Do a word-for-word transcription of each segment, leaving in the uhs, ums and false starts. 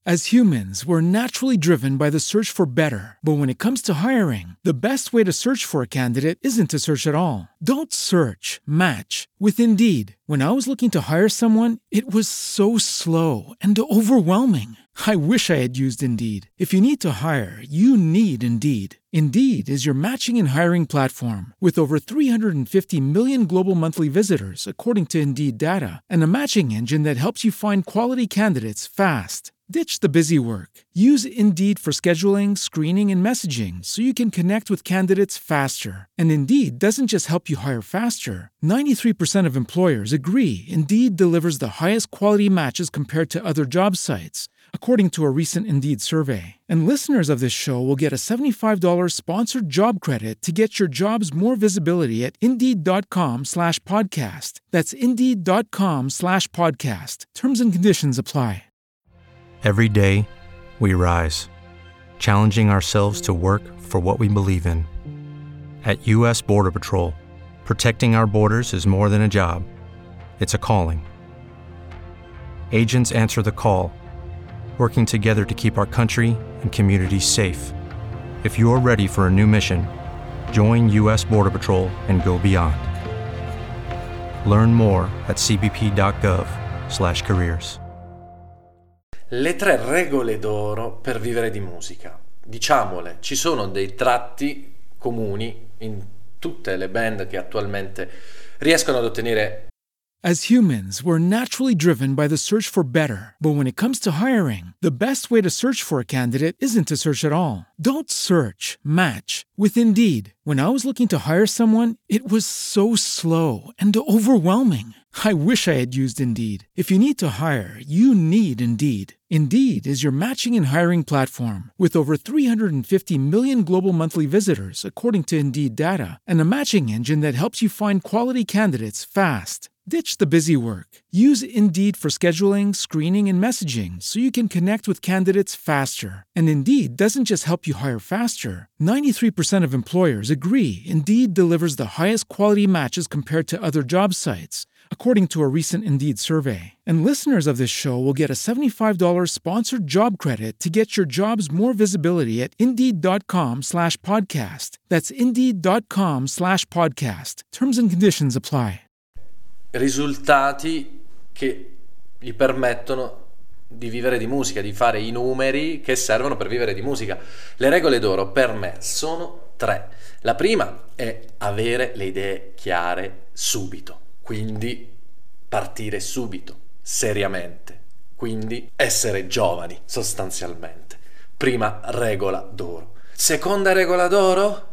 As humans, we're naturally driven by the search for better. But when it comes to hiring, the best way to search for a candidate isn't to search at all. Don't search, match with Indeed. When I was looking to hire someone, it was so slow and overwhelming. I wish I had used Indeed. If you need to hire, you need Indeed. Indeed is your matching and hiring platform with over three hundred fifty million global monthly visitors, according to Indeed data, and a matching engine that helps you find quality candidates fast. Ditch the busy work. Use Indeed for scheduling, screening, and messaging so you can connect with candidates faster. And Indeed doesn't just help you hire faster. ninety-three percent of employers agree Indeed delivers the highest quality matches compared to other job sites, according to a recent Indeed survey. And listeners of this show will get a seventy-five dollars sponsored job credit to get your jobs more visibility at Indeed.com slash podcast. That's Indeed.com slash podcast. Terms and conditions apply. Every day, we rise, challenging ourselves to work for what we believe in. At U S Border Patrol, protecting our borders is more than a job. It's a calling. Agents answer the call, working together to keep our country and communities safe. If you're ready for a new mission, join U S Border Patrol and go beyond. Learn more at cbp.gov slash careers. Le tre regole d'oro per vivere di musica. Diciamole, ci sono dei tratti comuni in tutte le band che attualmente riescono ad ottenere. As humans, we're naturally driven by the search for better. But when it comes to hiring, the best way to search for a candidate isn't to search at all. Don't search, match with Indeed. When I was looking to hire someone, it was so slow and overwhelming. I wish I had used Indeed. If you need to hire, you need Indeed. Indeed is your matching and hiring platform with over three hundred fifty million global monthly visitors, according to Indeed data, and a matching engine that helps you find quality candidates fast. Ditch the busy work. Use Indeed for scheduling, screening, and messaging so you can connect with candidates faster. And Indeed doesn't just help you hire faster. ninety-three percent of employers agree Indeed delivers the highest quality matches compared to other job sites, according to a recent Indeed survey. And listeners of this show will get a seventy-five dollars sponsored job credit to get your jobs more visibility at Indeed.com slash podcast. That's Indeed.com slash podcast. Terms and conditions apply. Risultati che gli permettono di vivere di musica, di fare i numeri che servono per vivere di musica. Le regole d'oro per me sono tre. La prima è avere le idee chiare subito, quindi partire subito, seriamente, quindi essere giovani sostanzialmente. Prima regola d'oro. Seconda regola d'oro,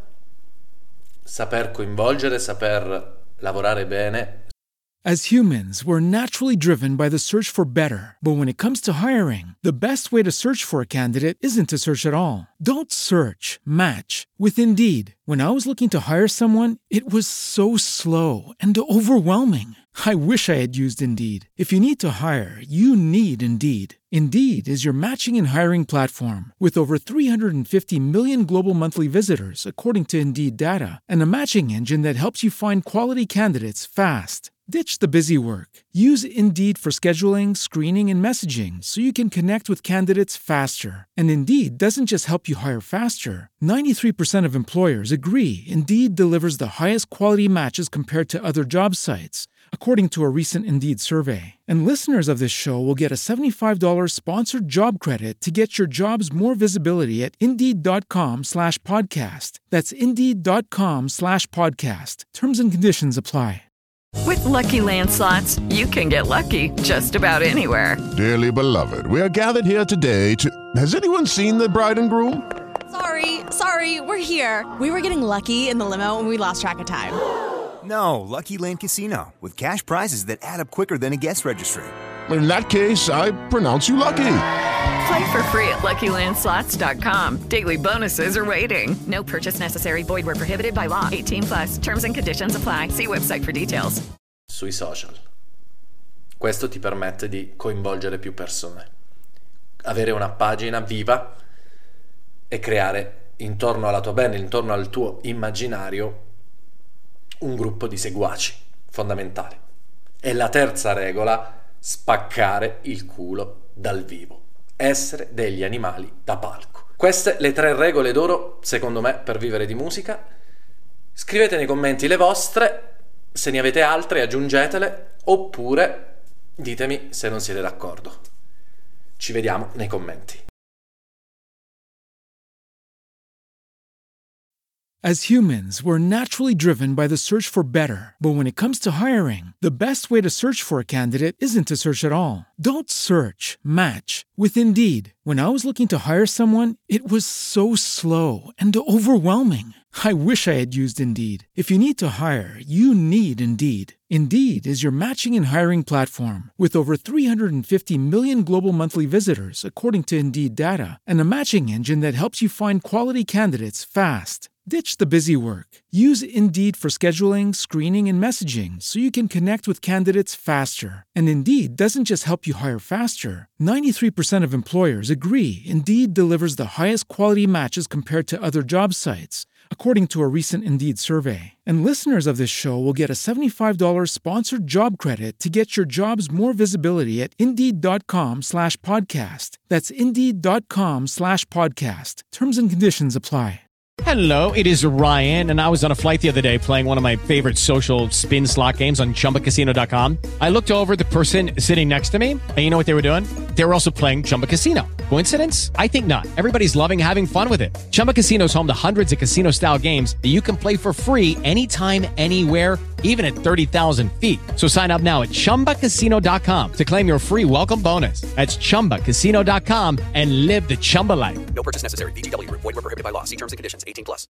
saper coinvolgere, saper lavorare bene. As humans, we're naturally driven by the search for better. But when it comes to hiring, the best way to search for a candidate isn't to search at all. Don't search, match with Indeed. When I was looking to hire someone, it was so slow and overwhelming. I wish I had used Indeed. If you need to hire, you need Indeed. Indeed is your matching and hiring platform with over three hundred fifty million global monthly visitors, according to Indeed data, and a matching engine that helps you find quality candidates fast. Ditch the busy work. Use Indeed for scheduling, screening, and messaging so you can connect with candidates faster. And Indeed doesn't just help you hire faster. ninety-three percent of employers agree Indeed delivers the highest quality matches compared to other job sites, according to a recent Indeed survey. And listeners of this show will get a seventy-five dollars sponsored job credit to get your jobs more visibility at Indeed.com slash podcast. That's Indeed.com slash podcast. Terms and conditions apply. With Lucky Land Slots, you can get lucky just about anywhere. Dearly beloved, we are gathered here today to... Has anyone seen the bride and groom? Sorry, sorry, we're here. We were getting lucky in the limo and we lost track of time. No, Lucky Land Casino, with cash prizes that add up quicker than a guest registry. In that case, I pronounce you lucky. Play for free at Lucky Land Slots dot com. Daily bonuses are waiting. No purchase necessary. Void where prohibited by law. eighteen plus. Terms and conditions apply. See website for details. Sui social. Questo ti permette di coinvolgere più persone, avere una pagina viva e creare intorno alla tua band, intorno al tuo immaginario, un gruppo di seguaci fondamentale. E la terza regola, spaccare il culo dal vivo. essere degli animali da palco. Queste le tre regole d'oro, secondo me, per vivere di musica. Scrivete nei commenti le vostre, se ne avete altre aggiungetele, oppure ditemi se non siete d'accordo. Ci vediamo nei commenti. As humans, we're naturally driven by the search for better. But when it comes to hiring, the best way to search for a candidate isn't to search at all. Don't search, match with Indeed. When I was looking to hire someone, it was so slow and overwhelming. I wish I had used Indeed. If you need to hire, you need Indeed. Indeed is your matching and hiring platform with over three hundred fifty million global monthly visitors, according to Indeed data, and a matching engine that helps you find quality candidates fast. Ditch the busy work. Use Indeed for scheduling, screening, and messaging so you can connect with candidates faster. And Indeed doesn't just help you hire faster. ninety-three percent of employers agree Indeed delivers the highest quality matches compared to other job sites, according to a recent Indeed survey. And listeners of this show will get a seventy-five dollars sponsored job credit to get your jobs more visibility at Indeed.com slash podcast. That's Indeed.com slash podcast. Terms and conditions apply. Hello, it is Ryan, and I was on a flight the other day playing one of my favorite social spin slot games on Chumba Casino dot com. I looked over at the person sitting next to me, and you know what they were doing? They were also playing Chumba Casino. Coincidence? I think not. Everybody's loving having fun with it. Chumba Casino is home to hundreds of casino-style games that you can play for free anytime, anywhere, even at thirty thousand feet. So sign up now at Chumba Casino dot com to claim your free welcome bonus. That's Chumba Casino dot com and live the Chumba life. No purchase necessary. V G W. Void where prohibited by law. See terms and conditions. eighteen plus.